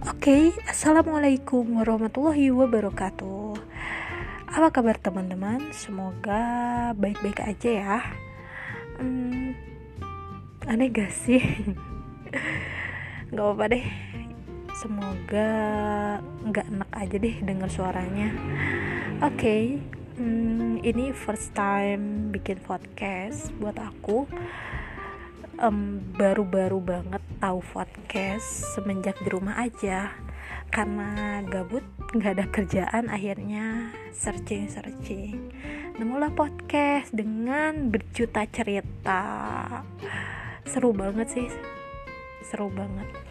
Oke, assalamualaikum warahmatullahi wabarakatuh. Apa kabar teman-teman? Semoga baik-baik aja ya. Aneh gak sih? Gak apa-apa deh. Semoga gak enak aja deh denger suaranya. Oke, ini first time bikin podcast buat aku. Baru-baru banget tahu podcast semenjak di rumah aja, karena gabut nggak ada kerjaan, akhirnya searching nemulah podcast dengan berjuta cerita. Seru banget sih, seru banget.